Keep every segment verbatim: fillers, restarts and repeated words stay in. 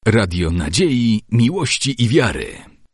Radio Nadziei, Miłości i Wiary.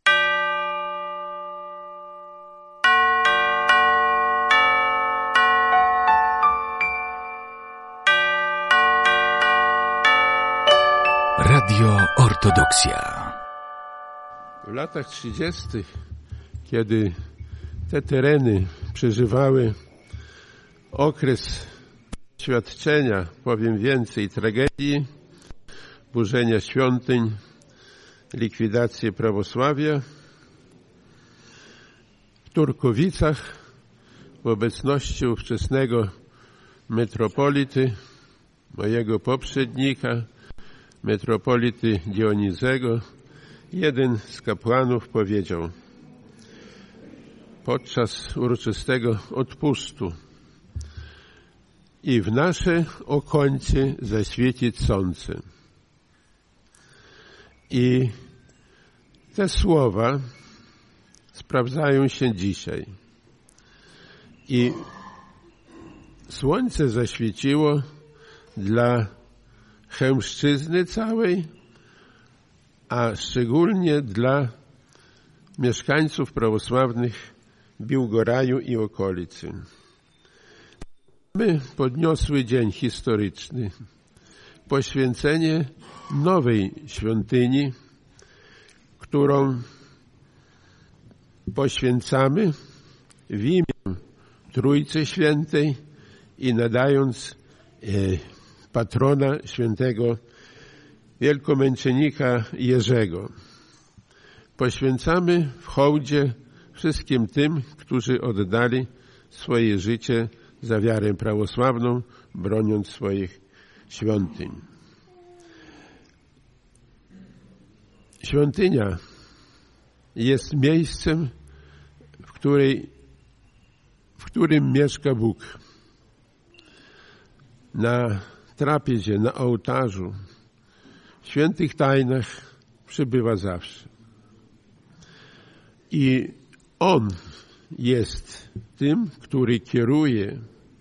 Radio Ortodoksja. W latach trzydziestych, kiedy te tereny przeżywały okres świadczenia, powiem więcej, tragedii, burzenia świątyń, likwidację prawosławia, w Turkowicach w obecności ówczesnego metropolity, mojego poprzednika, metropolity Dionizego, jeden z kapłanów powiedział podczas uroczystego odpustu: i w nasze okońce zaświecić słońce. I te słowa sprawdzają się dzisiaj. I słońce zaświeciło dla Chełmszczyzny całej, a szczególnie dla mieszkańców prawosławnych Biłgoraju i okolicy. Mamy podniosły dzień historyczny, poświęcenie nowej świątyni, którą poświęcamy w imię Trójcy Świętej i nadając e, patrona świętego wielkomęczennika Jerzego. Poświęcamy w hołdzie wszystkim tym, którzy oddali swoje życie za wiarę prawosławną, broniąc swoich świątyń. Świątynia jest miejscem, w, której, w którym mieszka Bóg. Na trapiezie, na ołtarzu, w świętych tajnach przybywa zawsze. I On jest tym, który kieruje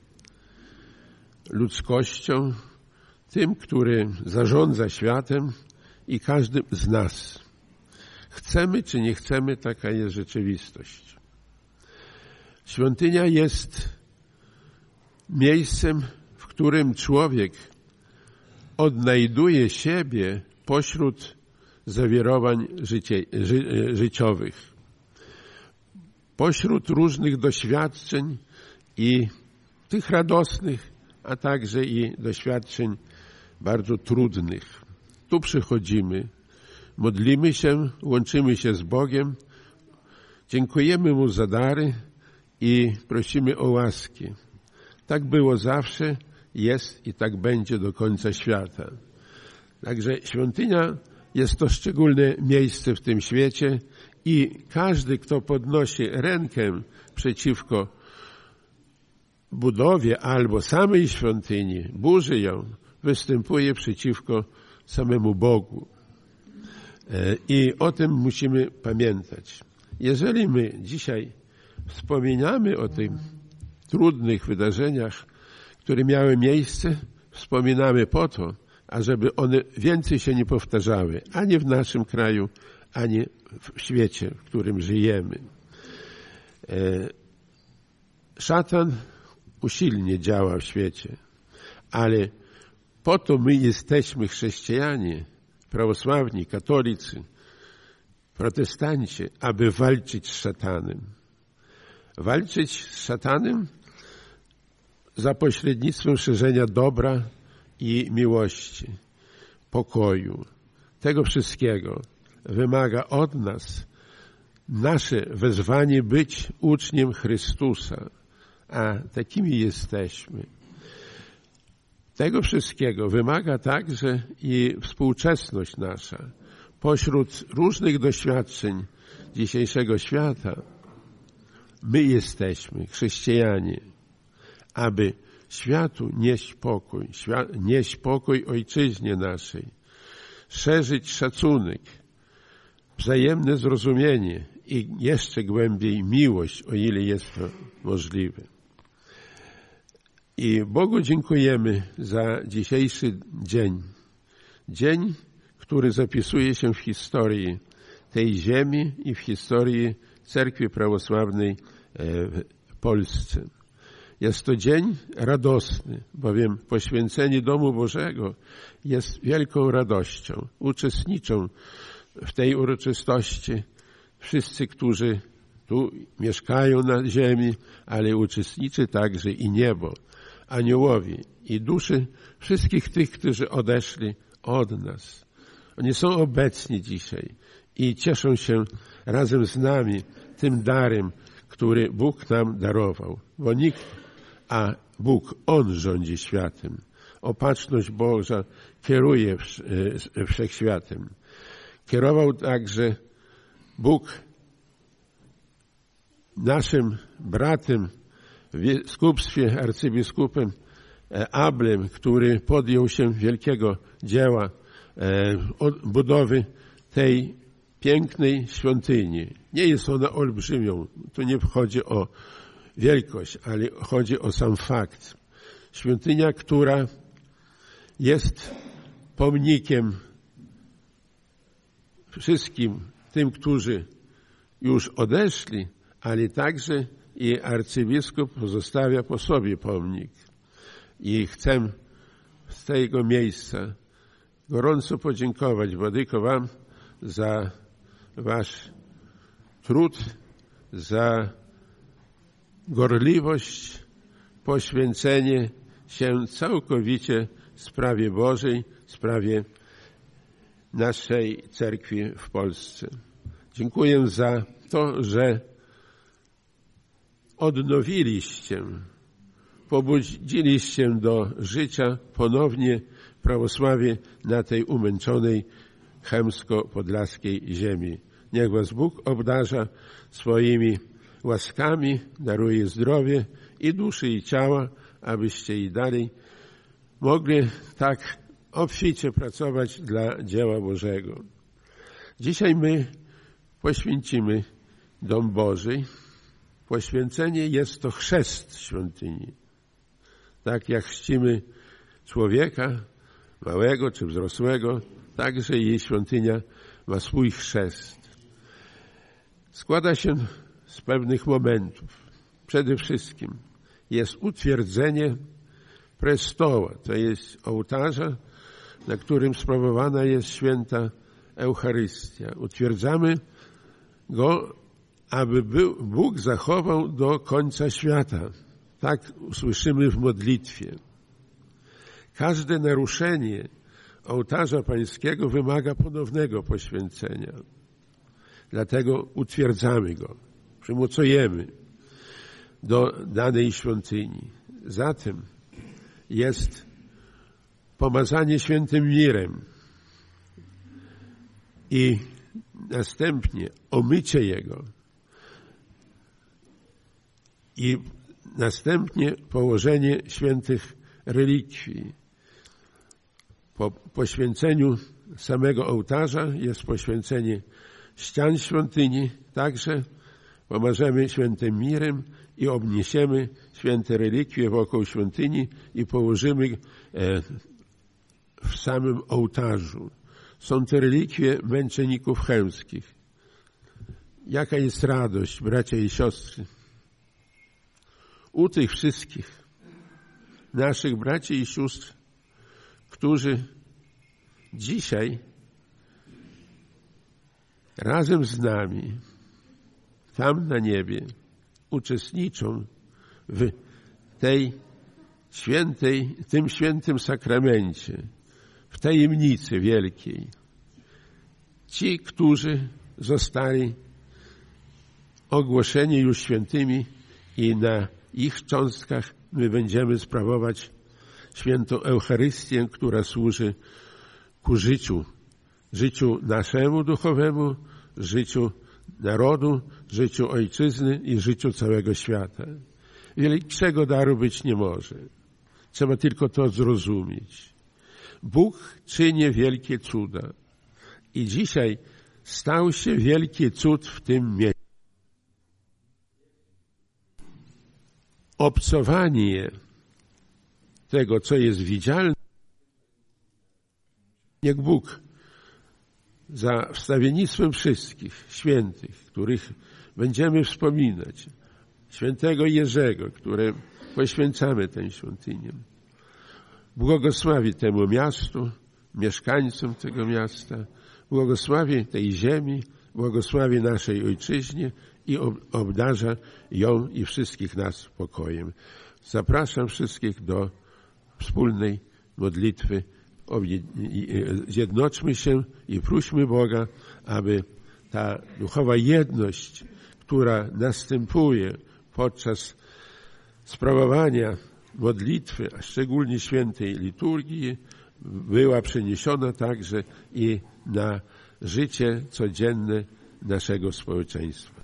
ludzkością, tym, który zarządza światem i każdym z nas. Chcemy czy nie chcemy, taka jest rzeczywistość. Świątynia jest miejscem, w którym człowiek odnajduje siebie pośród zawirowań życie, ży, życiowych, pośród różnych doświadczeń i tych radosnych, a także i doświadczeń bardzo trudnych. Tu przychodzimy, modlimy się, łączymy się z Bogiem, dziękujemy Mu za dary i prosimy o łaskę. Tak było zawsze, jest i tak będzie do końca świata. Także świątynia jest to szczególne miejsce w tym świecie i każdy, kto podnosi rękę przeciwko budowie albo samej świątyni, burzy ją, występuje przeciwko samemu Bogu. I o tym musimy pamiętać. Jeżeli my dzisiaj wspominamy o tych trudnych wydarzeniach, które miały miejsce, wspominamy po to, ażeby one więcej się nie powtarzały, ani w naszym kraju, ani w świecie, w którym żyjemy. Szatan usilnie działa w świecie, ale po to my jesteśmy chrześcijanie, prawosławni, katolicy, protestanci, aby walczyć z szatanem. Walczyć z szatanem za pośrednictwem szerzenia dobra i miłości, pokoju. Tego wszystkiego wymaga od nas nasze wezwanie być uczniem Chrystusa, a takimi jesteśmy. Tego wszystkiego wymaga także i współczesność nasza. Pośród różnych doświadczeń dzisiejszego świata my jesteśmy, chrześcijanie, aby światu nieść pokój, nieść pokój ojczyźnie naszej, szerzyć szacunek, wzajemne zrozumienie i jeszcze głębiej miłość, o ile jest to możliwe. I Bogu dziękujemy za dzisiejszy dzień. Dzień, który zapisuje się w historii tej ziemi i w historii Cerkwi Prawosławnej w Polsce. Jest to dzień radosny, bowiem poświęcenie Domu Bożego jest wielką radością. Uczestniczą w tej uroczystości wszyscy, którzy tu mieszkają na ziemi, ale uczestniczy także i niebo, aniołowie i duszy wszystkich tych, którzy odeszli od nas. Oni są obecni dzisiaj i cieszą się razem z nami tym darem, który Bóg nam darował. Bo nikt, a Bóg, On rządzi światem. Opatrzność Boża kieruje wszechświatem. Kierował także Bóg naszym bratem w biskupstwie, arcybiskupem Ablem, który podjął się wielkiego dzieła budowy tej pięknej świątyni. Nie jest ona olbrzymią, tu nie chodzi o wielkość, ale chodzi o sam fakt. Świątynia, która jest pomnikiem wszystkim tym, którzy już odeszli, ale także i arcybiskup pozostawia po sobie pomnik. I chcę z tego miejsca gorąco podziękować, Władyko, wam za wasz trud, za gorliwość, poświęcenie się całkowicie sprawie Bożej, sprawie naszej cerkwi w Polsce. Dziękuję za to, że odnowiliście, pobudziliście do życia ponownie prawosławie na tej umęczonej chełmsko-podlaskiej ziemi. Niech was Bóg obdarza swoimi łaskami, daruje zdrowie i duszy, i ciała, abyście i dalej mogli tak obficie pracować dla dzieła Bożego. Dzisiaj my poświęcimy Dom Boży. Poświęcenie jest to chrzest świątyni. Tak jak chrzcimy człowieka, małego czy wzrosłego, także jej świątynia ma swój chrzest. Składa się z pewnych momentów. Przede wszystkim jest utwierdzenie prestoła, to jest ołtarza, na którym sprawowana jest święta Eucharystia. Utwierdzamy go, aby Bóg zachował do końca świata. Tak usłyszymy w modlitwie. Każde naruszenie ołtarza pańskiego wymaga ponownego poświęcenia. Dlatego utwierdzamy go, przymocujemy do danej świątyni. Zatem jest pomazanie świętym mirem i następnie omycie jego i następnie położenie świętych relikwii. Po poświęceniu samego ołtarza jest poświęcenie ścian świątyni, także pomażemy świętym mirem i obniesiemy święte relikwie wokół świątyni i położymy w samym ołtarzu. Są to relikwie męczenników chełmskich. Jaka jest radość, bracia i siostry, u tych wszystkich naszych braci i sióstr, którzy dzisiaj razem z nami tam na niebie uczestniczą w tej świętej, tym świętym sakramencie, w tajemnicy wielkiej. Ci, którzy zostali ogłoszeni już świętymi i na ich cząstkach my będziemy sprawować świętą Eucharystię, która służy ku życiu, życiu naszemu duchowemu, życiu narodu, życiu ojczyzny i życiu całego świata. Większego daru być nie może. Trzeba tylko to zrozumieć. Bóg czyni wielkie cuda. I dzisiaj stał się wielki cud w tym miejscu. Obcowanie tego, co jest widzialne, niech Bóg za wstawiennictwem wszystkich świętych, których będziemy wspominać, świętego Jerzego, które poświęcamy tę świątynię. Błogosławi temu miastu, mieszkańcom tego miasta, błogosławi tej ziemi, błogosławi naszej ojczyźnie i obdarza ją i wszystkich nas pokojem. Zapraszam wszystkich do wspólnej modlitwy. Zjednoczmy się i prośmy Boga, aby ta duchowa jedność, która następuje podczas sprawowania modlitwy, a szczególnie świętej liturgii, była przeniesiona także i na życie codzienne naszego społeczeństwa.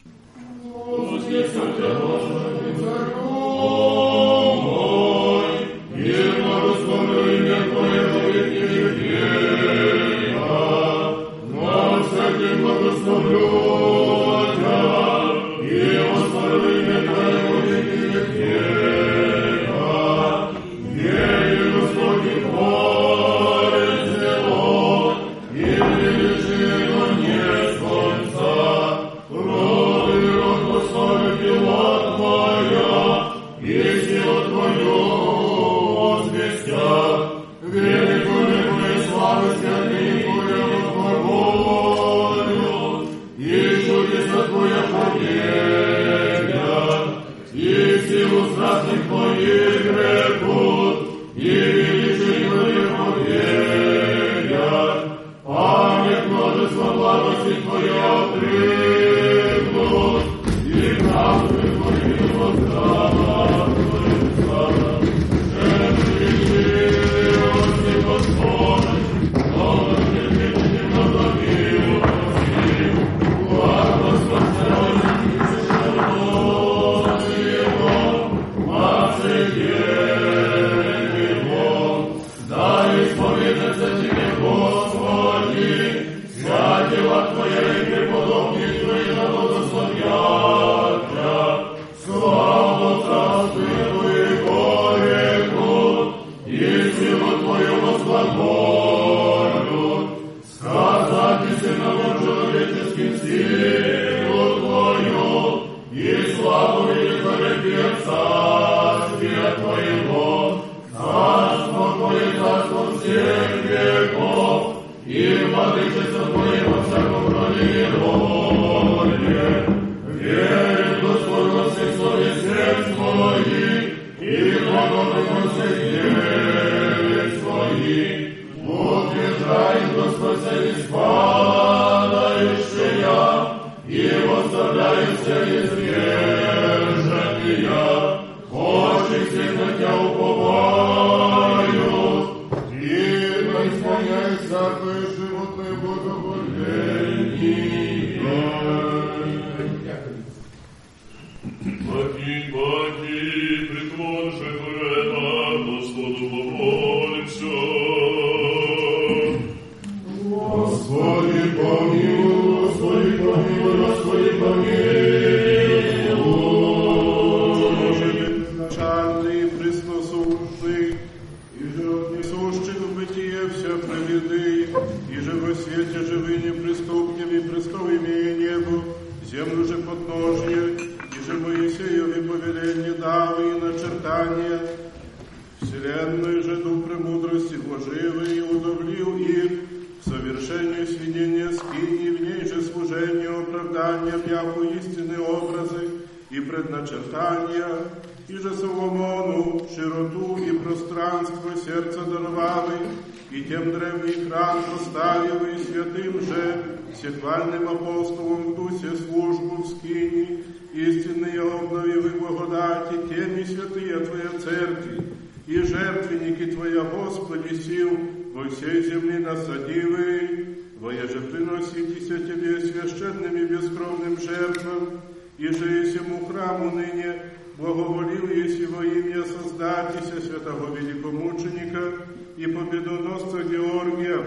Всехвальным апостолом в Дусе службу в скинии, истинные обновив и благодати, теми святые Твоя Церкви, и жертвенники Твоя, Господи, сил, во всей земли насадивы, воеже приноситеся Тебе священным и бескровным жертвам, и же есему храму ныне благоволил еси во имя Создатися святого великомученика и победоносца Георгия,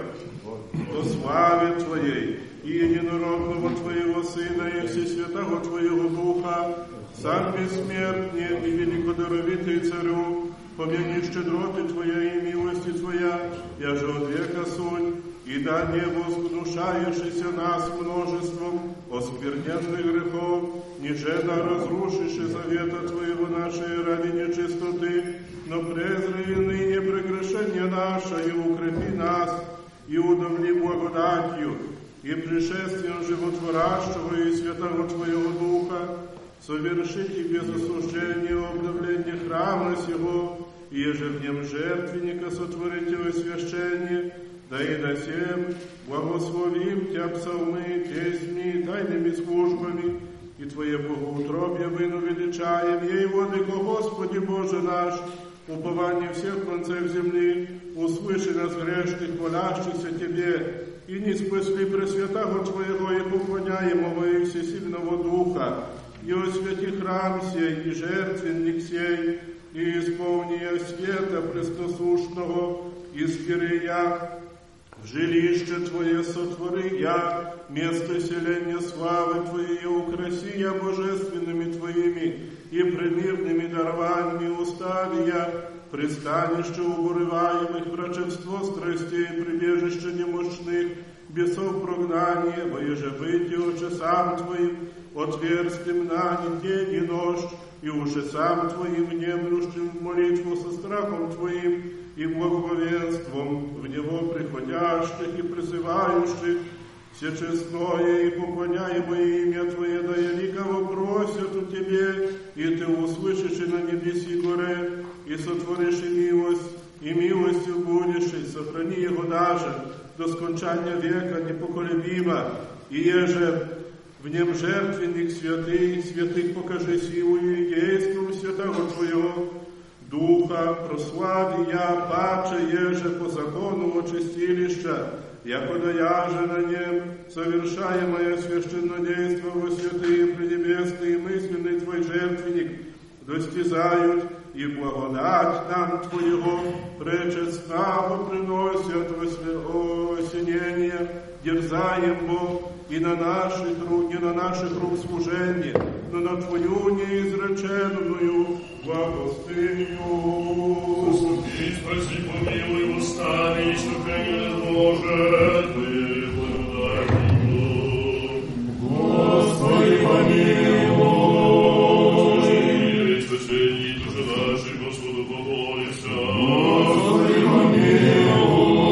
во славе Твоей и единородного Твоего Сына и Всесвятого Твоего Духа, сам бессмертный и великодаровитый Царю, помяни щедроты Твоя и милости Твоя, я же от века сунь, и да не возгнушаешься нас множеством оскверненных грехов, ниже да разрушишь и завета Твоего нашей ради нечистоты, но презри ныне прегрешение наше, и укрепи нас, и удовли благодатью, и пришествием животворящего и святого Твоего Духа, совершите без осуждения обновление храма сего, и еже в нем жертвенника сотворите освящение, да и до сем благословим Тя псалмы, песни, тайными службами, и Твое богоутробье выну величаем, ей, Владыко Господи Боже наш, упование всех концев земли, услыши нас грешных, молящихся Тебе, и не спасли Пресвятого Твоего и поклоняемого и Всесильного Духа, и освяти храм сей, и жертвенник сей, и исполния света пресносушного, и скирия, в жилище Твое сотвори я, место селения славы Твоей, украси я божественными Твоими и премирными дарованиями устави я, пристанище уборываемых, врачевство страстей, прибежище немощных, бесов прогнание, воеже выйти очи сам Твоим, отверстим на день и ночь, и уже сам Твоим внемлющим молитву со страхом Твоим и благоговенством в него приходящих и призывающих, всечестное и поклоняемое имя Твое, да великого просят у Тебе, и Ты услышишь и на небеси горе, и сотворишь и милость, и милостью будешь, и сохрани его даже до скончания века непоколебимо, и еже в нем жертвенник святый, святых покажи силою и действом святого Твоего Духа, прослави я, паче еже по закону очистилища, якода я же на нем, совершаемое священнодейство во святые преднебесные мысленный Твой жертвенник, достизают и благодать нам Твоего пречестного приносят осенение, дерзаем Бог, и на наших рук, не на наших рук служение, но на Твою неизреченную благостыню. Господи, спаси, помилуй, восстань, и сохрани нас, Боже, Твоей благодатью. Господи, помилуй. Господи, спасение души нашей, Господу помолимся. Господи, помилуй.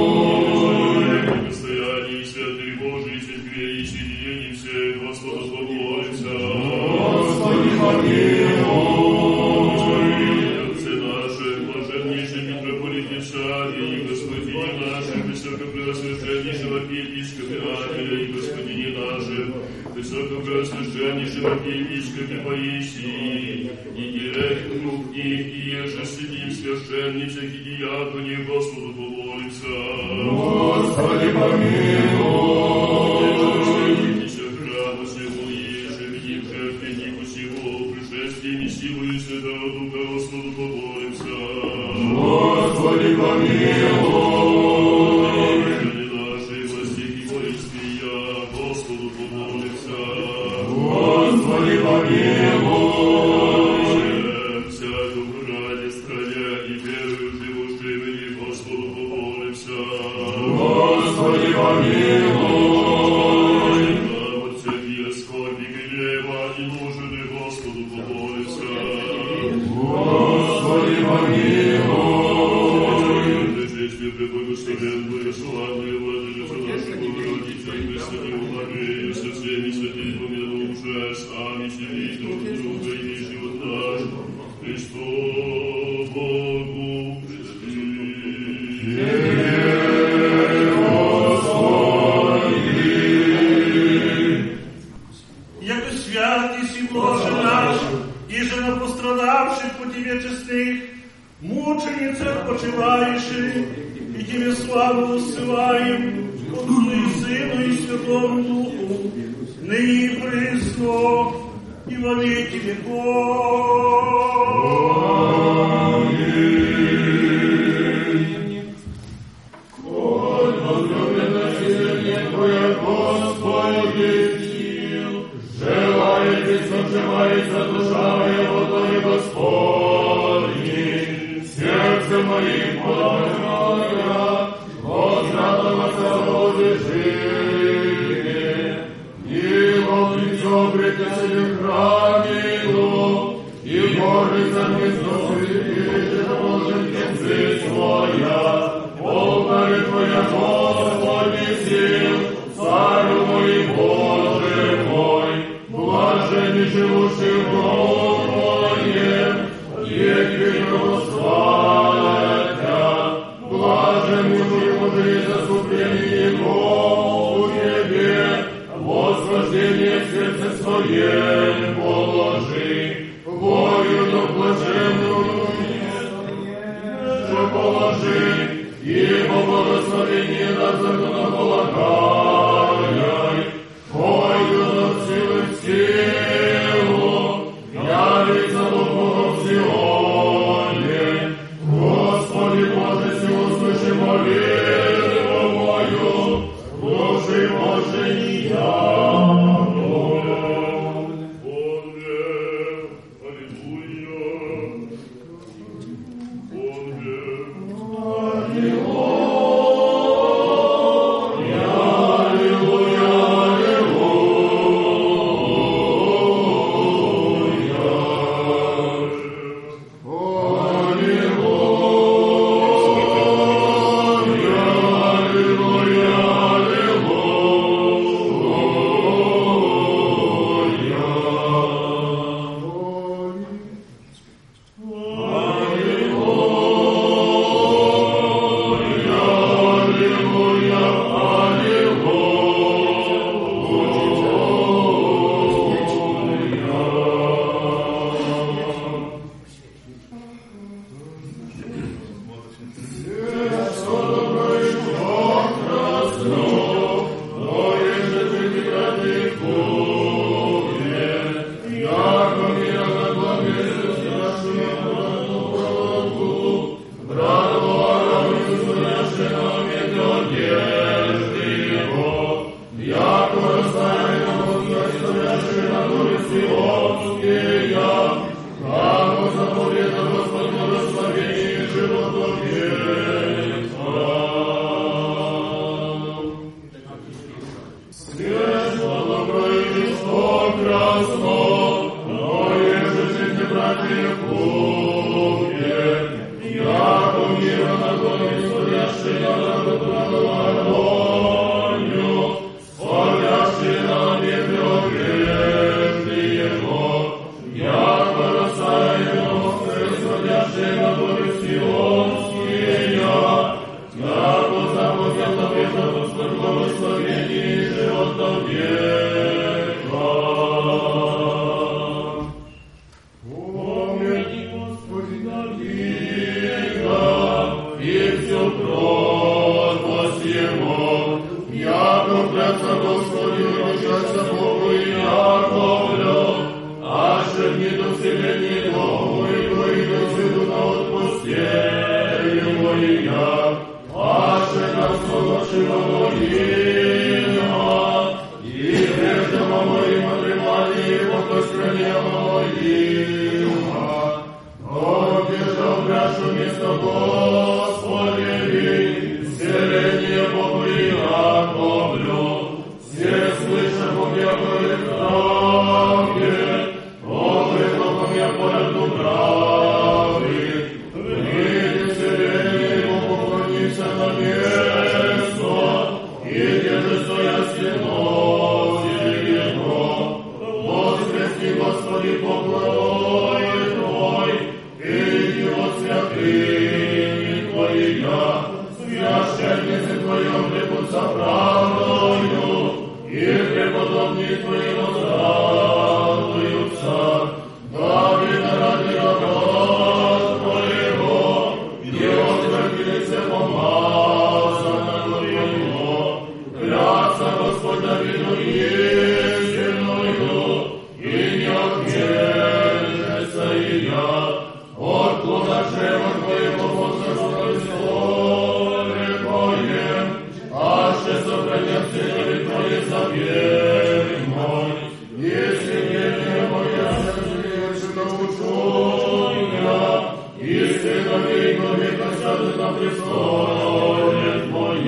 Постояние святых Божий, сетьбе и соединении всех, Господу помолимся. Господи, помилуй. Высокопреосвященнейшего архиепископе Паисии, и директору книг, и еже святим священнице и диаконе, Господу помолимся. Господи, помилуй. Святитеся храма сего, еже видим жертвеннику сего, пришествием и силою Святого Духа, Господу помолимся. Господи, помилуй. Господи, помилуй. Всякому ради страня и верою живущими, Господу помолимся. Господи, помилуй. От всякие скорби, гнева и нужды, Господу помолимся. Господи, помилуй. Причестие преблагословенную, славную владычицу нашу Богородицу, и Пресвятую Марию, со всеми святыми помянувши, сами себе друг друга и весь живот наш, Христу Богу предадим. Яко свят еси, Боже наш, иже на пострадавших по Тебе честных, мученицах почивающих, и Тебе славу усылаем, Отцу и Сыну и Святому Духу, ныне и присно, и во веки веков. Аминь. Коль возлюблено сильнее Твое, Господи, сил, желает и соживается душа моего, Твоей Господи, сердце моим полное, возрадоваться одобрите себе хранило, и горы за гнездо святые, положим концы своя, полторы Твоя, Господи, сил, Царю мой, Боже мой, блаженни живущий в дом Твоем, еки славятся, блаженни Божие заступление Его в Тебе, восхождение в сердце своем положи, Бою до блаженную же положи, Его благословение над законополагай, Бою до силы в силу, явится Бога в Сионе, Господи Боже, силу слыши молитву мою, Боже Боже, не я.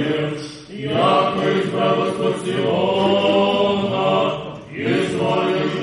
Яко избралось от Сиона, и звали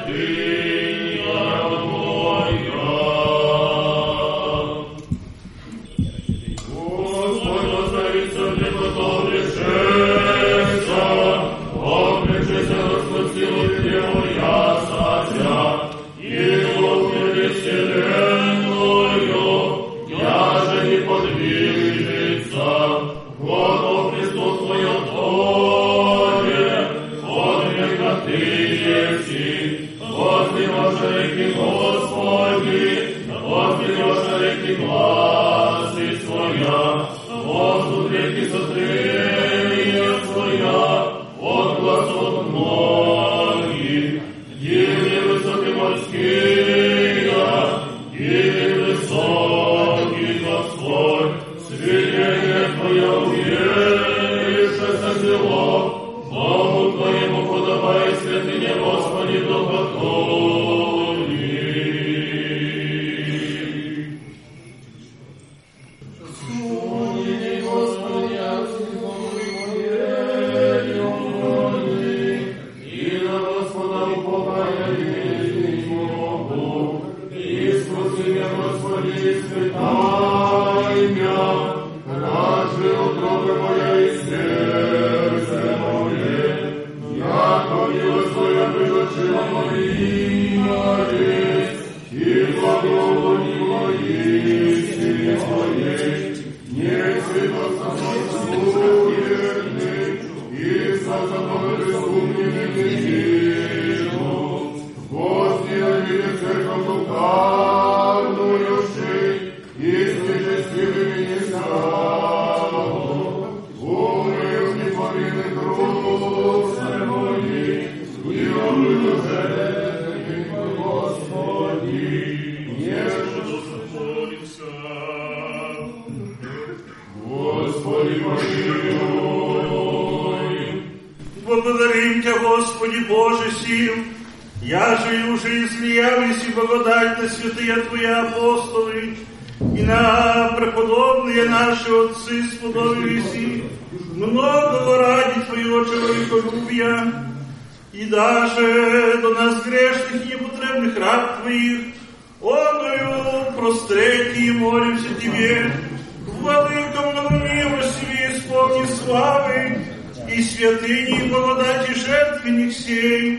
Благодарим Тебя, Господи Боже сил, я же уже излиялись и благодать на святые Твои апостолы, и на преподобные наши отцы сподобились их многого ради Твоего человеколюбия, и даже до нас грешных и непотребных раб Твоих, оною простреки и молимся Тебе, владыка многомилостивый, исполни славы, и святыни и благодати жертвенник сей,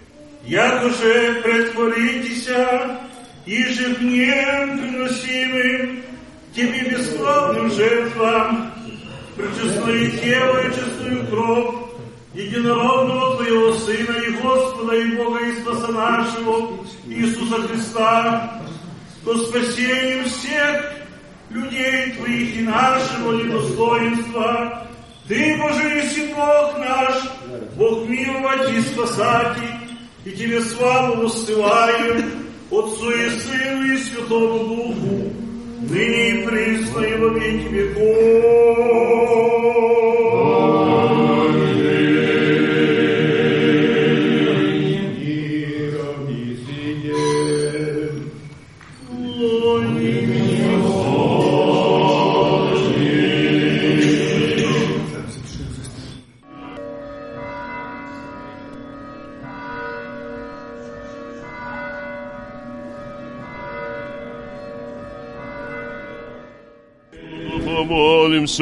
якоже претворитеся, ежедневно приносимым Тебе бескровным жертвам, пречестное тело и честную кровь единородного Твоего Сына и Господа и Бога и Спаса нашего Иисуса Христа, то спасением всех людей Твоих и нашего недостоинства, Ты, Боже, еси Бог наш, Бог миловать и спасать, и Тебе славу воссылаем, Отцу и Сыну и Святому Духу, ныне и присно и во веки веков. Помолимся.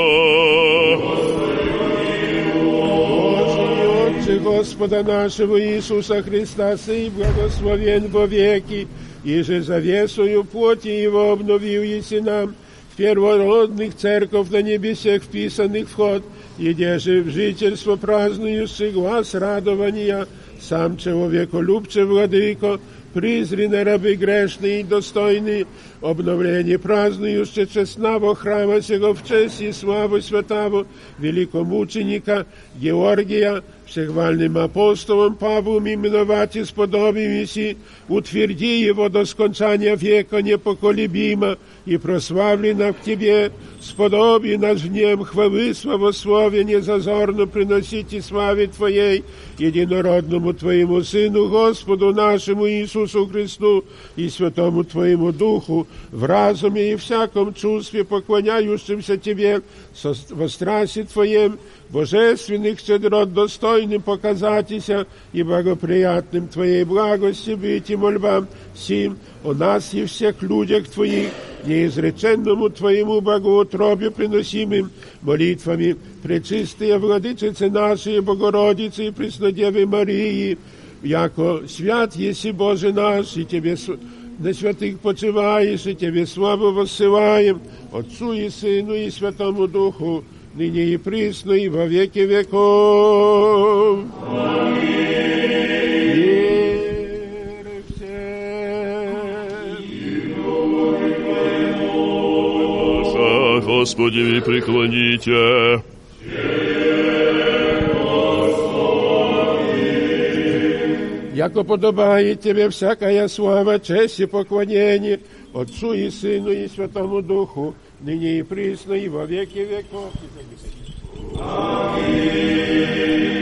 Отче Господа нашего Иисуса Христа, сый благословен во веки, и же завесою плоти Его обновил еси нам в первородных церковь на небесех вписанных вход, еде же в жительство празднующий глаз радования, сам человеколюбче владыко, призренные рабы грешные и достойные, обновление празднующие честного храма сего в честь и славу святого великомученика Георгия, всехвальным апостолом Павлом именовать и сподобимися, утверди его до скончания века непоколебимо и прославлено к Тебе, сподоби нас в нем хвалы славословия незазорно приносить и славе Твоей, единородному Твоему Сыну, Господу нашему Иисусу Иисусу Христу и Святому Твоему Духу, в разуме и всяком чувстве, поклоняющимся Тебе во страсти Твоем, божественных щедрот достойным показатися и благоприятным Твоей благости быть и мольбам сим о нас и всех людях Твоих, неизреченному Твоему благоутробию приносимым молитвами пречистые Владычицы нашей Богородицы и Преснодевы Марии, яко свят еси Боже наш, и Тебе на святых почиваешь, и Тебе славу воссылаем, Отцу и Сыну и Святому Духу, ныне и присно, и во веки веков. Аминь. Веры все. Господи, ви преклоните. Яко подобает Тебе всякая слава, честь и поклонение Отцу и Сыну и Святому Духу, ныне и присно, и во веки веков. Аминь.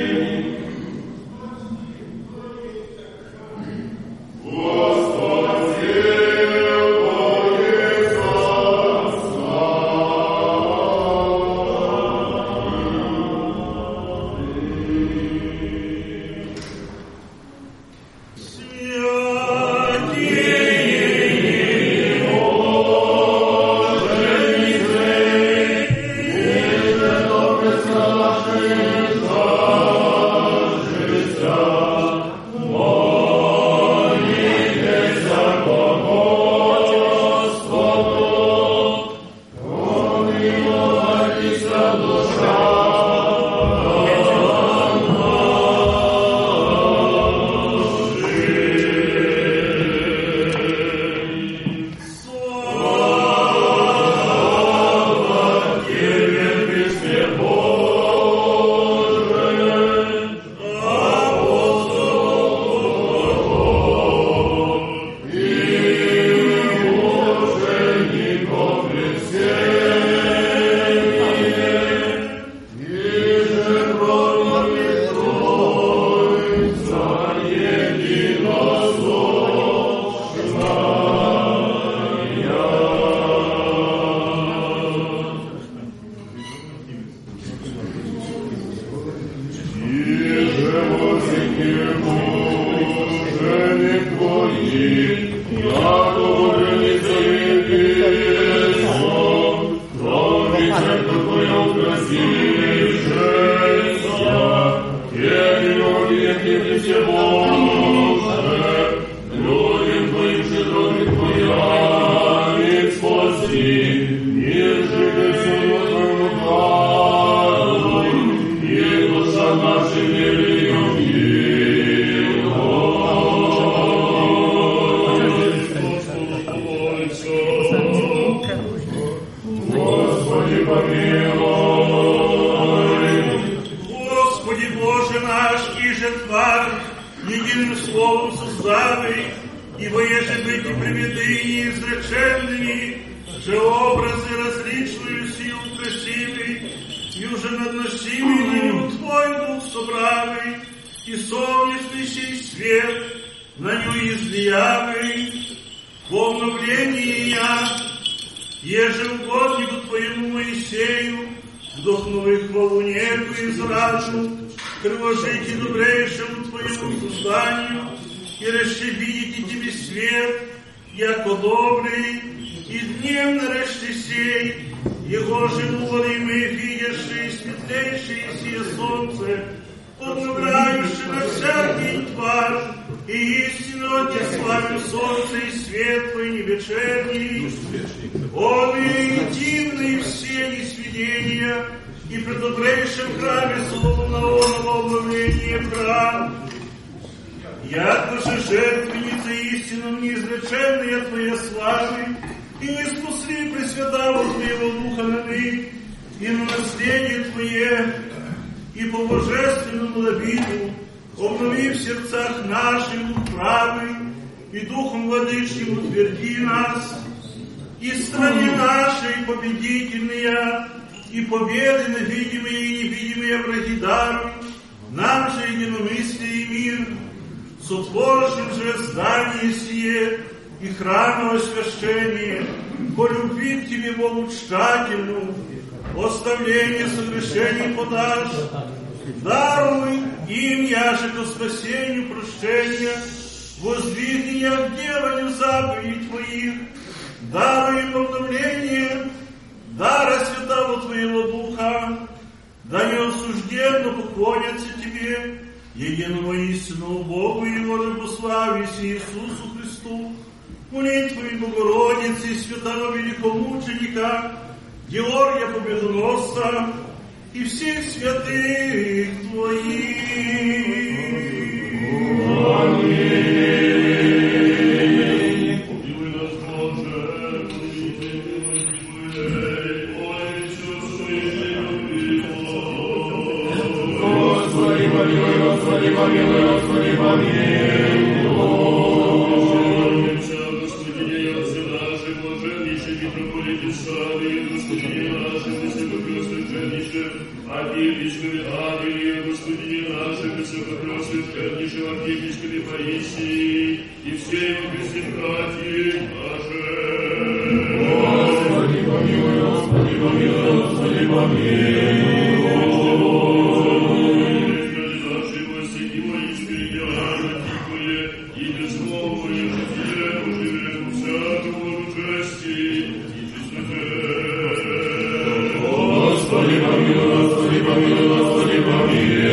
сотворшим же здание сие и храмовое священие, по любви к Тебе, Богу тщательну, оставление согрешений подашь, даруй им, яже ко спасению прощения, воздвигни к деланию заповедей Твоих, даруй им обновление, дара святого Твоего Духа, да не осужденно поклонятся Тебе, единому истинному Богу и Его рабослависе Иисусу Христу, молитву и Богородицы, святого великомученика Георгия Победоносца и всех святых Твоих. Аминь. Помилуй нас, Боже, Господи, помилуй, Господи, помилуй, Господи, помилуй. Архиепископе Авелия, Господине нашим, высокопросвященнейшем архиепископе Паисии и все его Христе братья наши. Господи, помилуй, Господи, помилуй, Господи, помилуй. Наши Господи, воистину, ясно Тихое, и безмолвное житие, оживее всякого участия и чистоте. Господи, помилуй, Господи, помилуй, Господи, помилуй.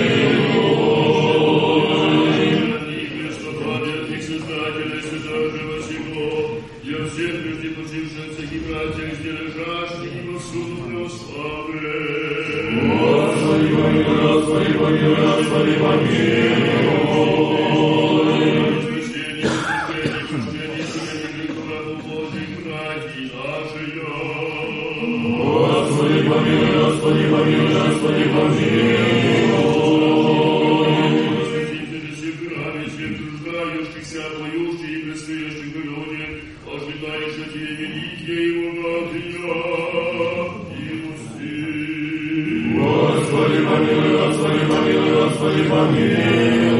Памятник Создателя, Святого Всего, для всех прежде почивших и братьях, где лежащих и повсюду православны. Господи, помилуй, Господи, помилуй, Господи, помилуй. Воскресение, воскресение, воскресение, греховного Божьих братьев наших. Господи, помилуй, Господи, помилуй, Господи, помилуй. Святитель всех грани, всех труждающихся, поющих и предстоящих люди, ожидаешь от Тебе великие и богатые милости. Господи, помилуй, Господи, помилуй, Господи, помилуй.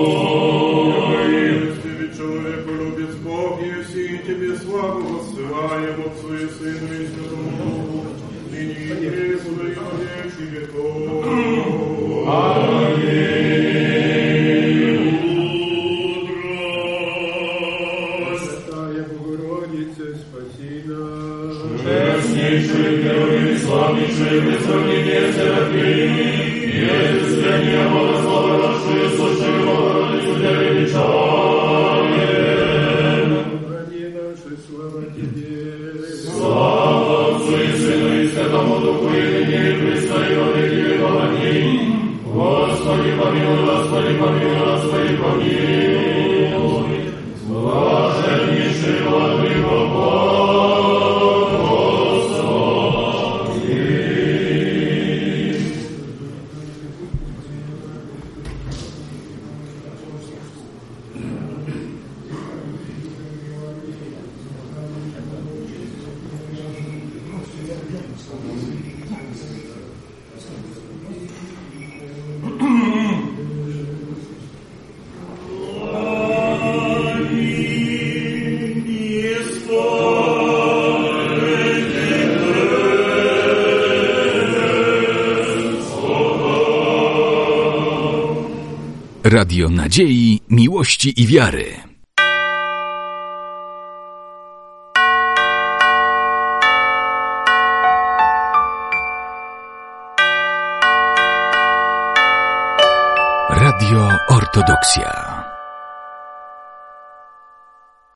Тебе, человеколюбец Бог, и все Тебе славу воссылаем Отцу и Сыну и Святому Духу, ныне и пресно и во веки веков. Аминь. Святая Богородица, спаси нас. Честнейший, первый и славнейший, без сравнения серафим, и осуществление Бога славы нашей, сущей Богородицу для величания. Ради нашей слава Тебе. Слава Отцу и Сыну и Святому Духу, и ныне и присно и во веки веков. Аминь. Господи, помилуй, Господи, помилуй, Господи, помилуй. Блаженнейший Владыко Господи. Radio Nadziei, Miłości i Wiary. Radio Ortodoksja.